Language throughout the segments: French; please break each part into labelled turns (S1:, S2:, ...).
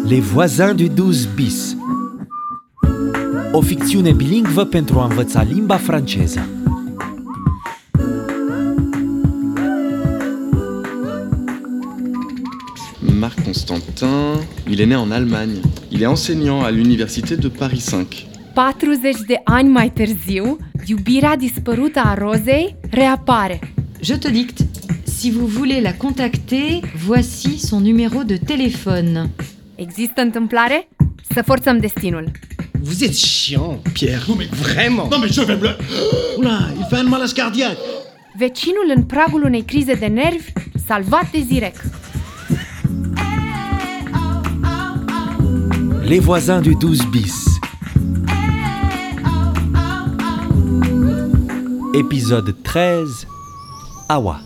S1: Les voisins du 12 bis. O ficțiune bilingvă pentru a învăța limba franceză.
S2: Marc Constantin, il est né en Allemagne. Il est enseignant à l'université de Paris 5.
S3: 40 de ani mai târziu, iubirea dispărută a Rozei reapare.
S4: Je te dicte. Si vous voulez la contacter, voici son numéro de téléphone.
S3: Există întâmplare? Să forțăm destinul.
S5: Vous êtes chiant, Pierre.
S6: Non mais
S5: Vraiment.
S6: Non mais je vais me...
S5: Oula, il fait un malaise cardiaque.
S3: Vecinul în pragul unei crize de nervi, salvat de Zirec.
S1: Les voisins du 12 bis. Épisode 13. Aua.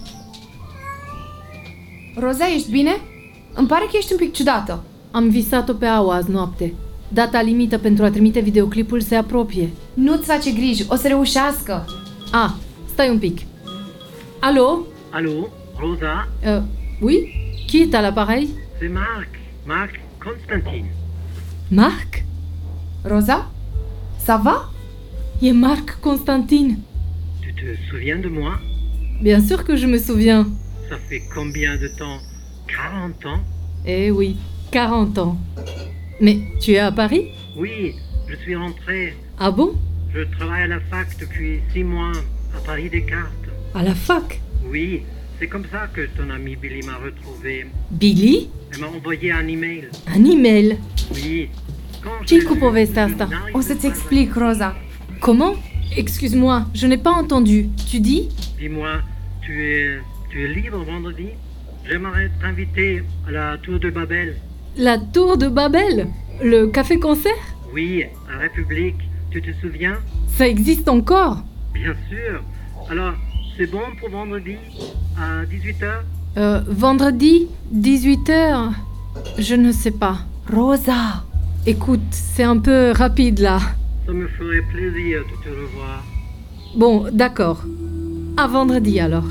S3: Roza, ești bine? Îmi pare că ești un pic ciudată.
S7: Am visat-o pe Aua azi noapte. Data limită pentru a trimite videoclipul se apropie.
S3: Nu-ți face griji, o să reușească.
S7: Stai un pic. Allô?
S8: Allô, Rosa?
S7: Oui? Qui est à l'appareil?
S8: C'est Marc Constantin.
S7: Marc?
S3: Roza? Ça va?
S7: E Marc Constantin.
S8: Tu te souviens de moi?
S7: Bien sûr que je me souviens.
S8: Ça fait combien de temps? 40 ans?
S7: Eh oui, 40 ans. Mais tu es à Paris?
S8: Oui, je suis rentré.
S7: Ah bon?
S8: Je travaille à la fac depuis 6 mois, à Paris Descartes.
S7: À la fac?
S8: Oui, c'est comme ça que ton ami Billy m'a retrouvé.
S7: Billy?
S8: Elle m'a envoyé un email.
S7: Un email?
S8: Oui. Quand
S7: Ce-i
S8: j'ai
S7: cu
S8: vu
S7: povestea
S8: que
S7: asta?
S8: n'arrive
S3: O să-ți
S8: pas-
S3: explic, Roza.
S7: Comment? Excuse-moi, je n'ai pas entendu. Tu dis?
S8: Dis-moi, tu es libre vendredi? J'aimerais t'inviter à la Tour de Babel.
S7: La tour de Babel? Le café-concert?
S8: Oui, à République. Tu te souviens?
S7: Ça existe encore?
S8: Bien sûr. Alors, c'est bon pour vendredi à 18h?
S7: Vendredi, 18h? Je ne sais pas.
S3: Roza!
S7: Écoute, c'est un peu rapide là.
S8: Ça me ferait plaisir de te revoir.
S7: Bon, d'accord. À vendredi alors.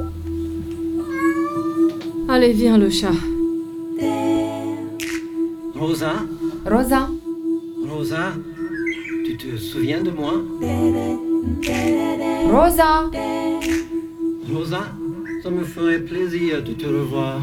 S7: Allez, viens le chat.
S5: Rosa?
S3: Roza?
S5: Rosa? Tu te souviens de moi?
S3: Roza!
S5: Rosa? Ça me ferait plaisir de te revoir.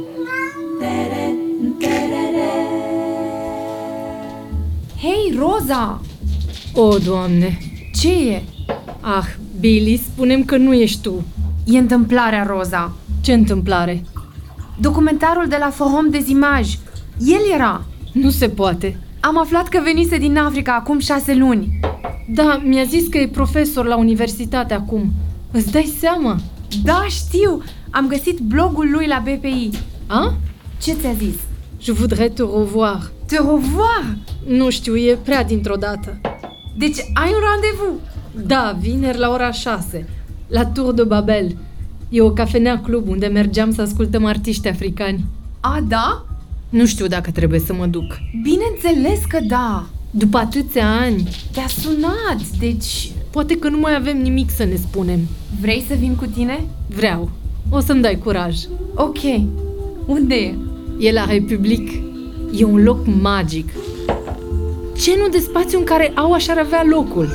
S3: Hei, Roza!
S7: O, Doamne!
S3: Ce e?
S7: Billy, spune-mi că nu ești tu.
S3: E întâmplarea, Roza.
S7: Ce întâmplare?
S3: Documentarul de la Forum des Images. El era.
S7: Nu se poate.
S3: Am aflat că venise din Africa acum 6 luni.
S7: Da, mi-a zis că e profesor la universitate acum. Îți dai seama?
S3: Da, știu! Am găsit blogul lui la BPI. Ce ți-a zis?
S7: Je voudrais te revoir.
S3: Te revoir!
S7: Nu știu, e prea dintr-o dată.
S3: Deci ai un randevou?
S7: Da, vineri la ora 6, la Tour de Babel. E o cafenea club unde mergeam să ascultăm artiști africani.
S3: Da?
S7: Nu știu dacă trebuie să mă duc.
S3: Bineînțeles că da!
S7: După atâția ani,
S3: Te-a sunat, deci...
S7: poate că nu mai avem nimic să ne spunem.
S3: Vrei să vin cu tine?
S7: Vreau. O să-mi dai curaj.
S3: Ok. Unde e?
S7: E la Republic. E un loc magic. Ce nu de spațiu în care Aua și-ar avea locul?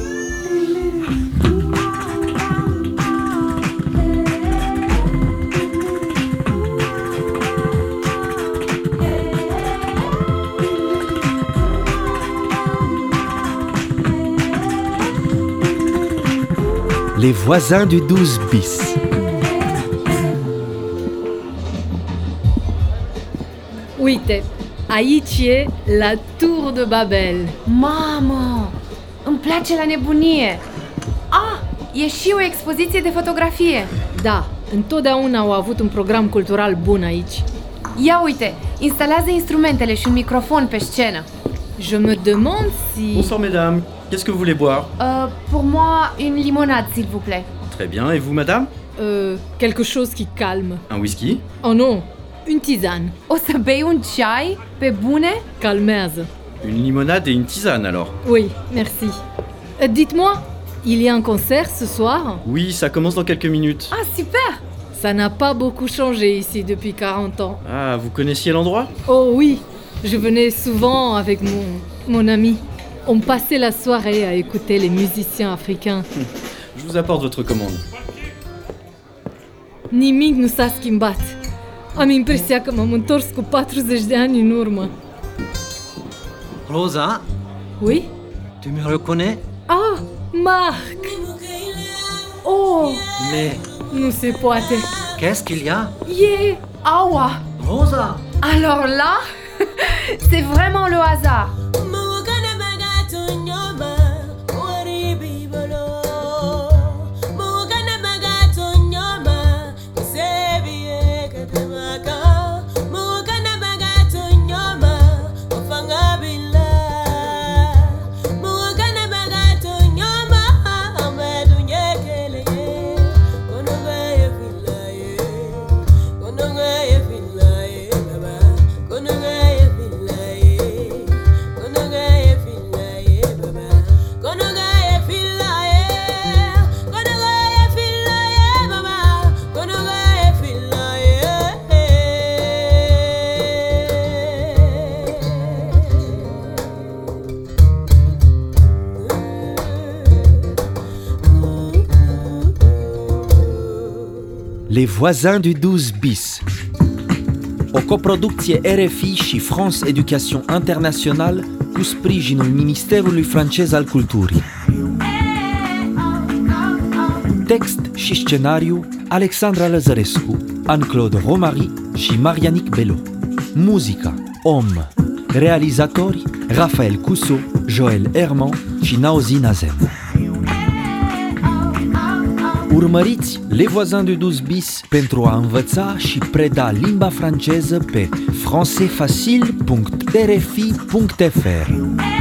S1: Les voisins du 12 bis.
S7: Uite, aici e la Tour de Babel.
S3: Mamă! Îmi place la nebunie! E și o expoziție de fotografie!
S7: Da, întotdeauna au avut un program cultural bun aici.
S3: Ia uite, instalează instrumentele și un microfon pe scenă.
S7: Je me demande si...
S9: Bonsoir mesdames, qu'est-ce que vous voulez boire?
S3: Pour moi, une limonade, s'il vous plaît.
S9: Très bien, et vous madame?
S7: Quelque chose qui calme.
S9: Un whisky?
S7: Oh non, une tisane.
S3: O să bei un ceai? Pe bune?
S7: Calmează.
S9: Une limonade et une tisane alors?
S7: Oui, merci. Dites-moi, il y a un concert ce soir?
S9: Oui, ça commence dans quelques minutes.
S3: Super!
S7: Ça n'a pas beaucoup changé ici depuis 40 ans.
S9: Ah, vous connaissiez l'endroit?
S7: Oh oui, Je venais souvent avec mon ami. On passait la soirée à écouter les musiciens africains.
S9: Je vous apporte votre commande.
S7: Nimic nu s-a schimbat. Am impresia că m-am întors cu 40 de ani în urmă.
S5: Rosa,
S7: Oui?
S5: tu me reconnais?
S7: Ah, Marc! Oh,
S5: Mais
S7: nu se poate.
S5: qu'est-ce qu'il y a?
S3: E... Aua!
S5: Rosa!
S3: Alors là, c'est vraiment le hasard.
S1: Les voisins du 12 bis. O coproducție RFI și France Education International cu sprijinul Ministerului francez al Culturii. Text și scenariu Alexandra Lăzărescu, Anne-Claude Romary și Marianic Belo. Muzica Om. Realizatori Raphaël Cousseau, Joël Herman și Naozi Nazem. Urmăriți Les Voisins du 12 bis pentru a învăța și preda limba franceză pe françaisfacile.rfi.fr.